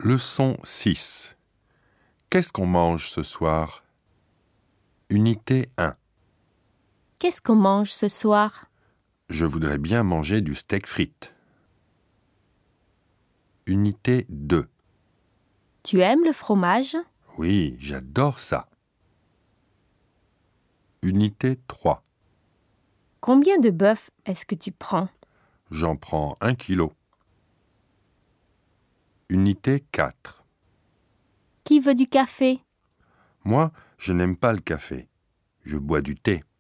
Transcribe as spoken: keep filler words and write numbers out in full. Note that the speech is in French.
Leçon six. Qu'est-ce qu'on mange ce soir? Unité un. Qu'est-ce qu'on mange ce soir? Je voudrais bien manger du steak frites. Unité deux. Tu aimes le fromage? Oui, j'adore ça. Unité trois. Combien de bœuf est-ce que tu prends? J'en prends un kilo. Unité quatre. Qui veut du café? Moi, je n'aime pas le café. Je bois du thé.